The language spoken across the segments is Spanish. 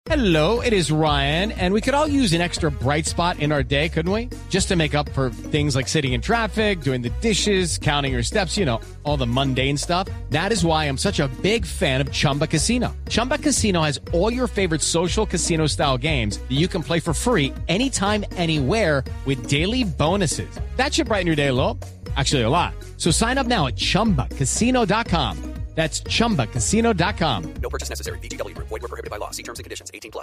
Hello, it is Ryan, and we could all use an extra bright spot in our day, couldn't we? Just to make up for things like sitting in traffic, doing the dishes, counting your steps, you know, all the mundane stuff. That is why I'm such a big fan of Chumba Casino. Chumba Casino has all your favorite social casino-style games that you can play for free anytime, anywhere with daily bonuses. That should brighten your day a little. Actually, a lot. So sign up now at ChumbaCasino.com. That's ChumbaCasino.com. No purchase necessary. VGW Group. Void where prohibited by law. See terms and conditions. 18+.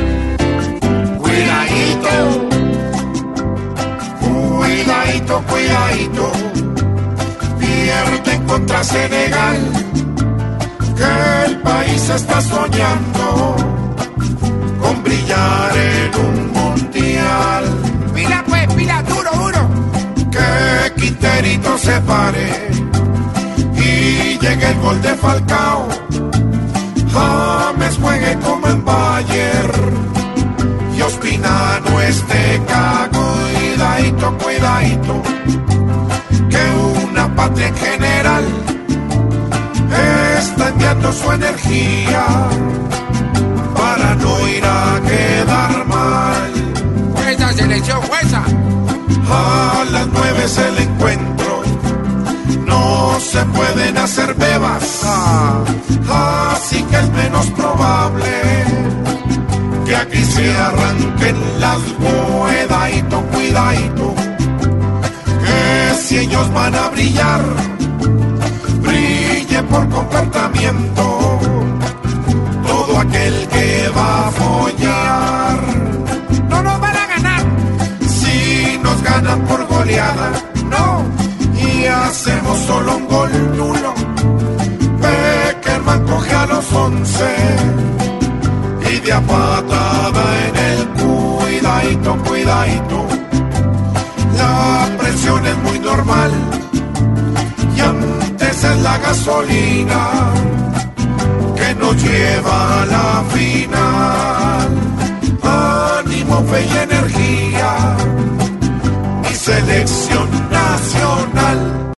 Cuidadito, cuidadito, cuidadito. Pierden contra Senegal, que el país está soñando con brillar en un mundial. Pila pues, pila, duro, duro. Que Quinterito se pare y llegue el gol de Falcao. James juegue como en Bayern y Ospina no esté cago. Cuidadito, cuidadito, que una patria en general está enviando su energía para no ir a quedar mal. Fuerza, selección, fuerza. A las 9 es el encuentro, no se pueden hacer bebas, así que es menos probable que aquí se arranquen las cuidadito, cuidadito, que si ellos van a brillar, brille por comportamiento todo aquel que va a follar. No nos van a ganar. Si nos ganan por goleada, no, y hacemos solo un gol nulo. Beckerman coge a los 11 y de a patada en el cuidadito, cuidadito. La presión es muy normal y antes es la gasolina que nos lleva a la final. Ánimo, fe y energía, mi selección nacional.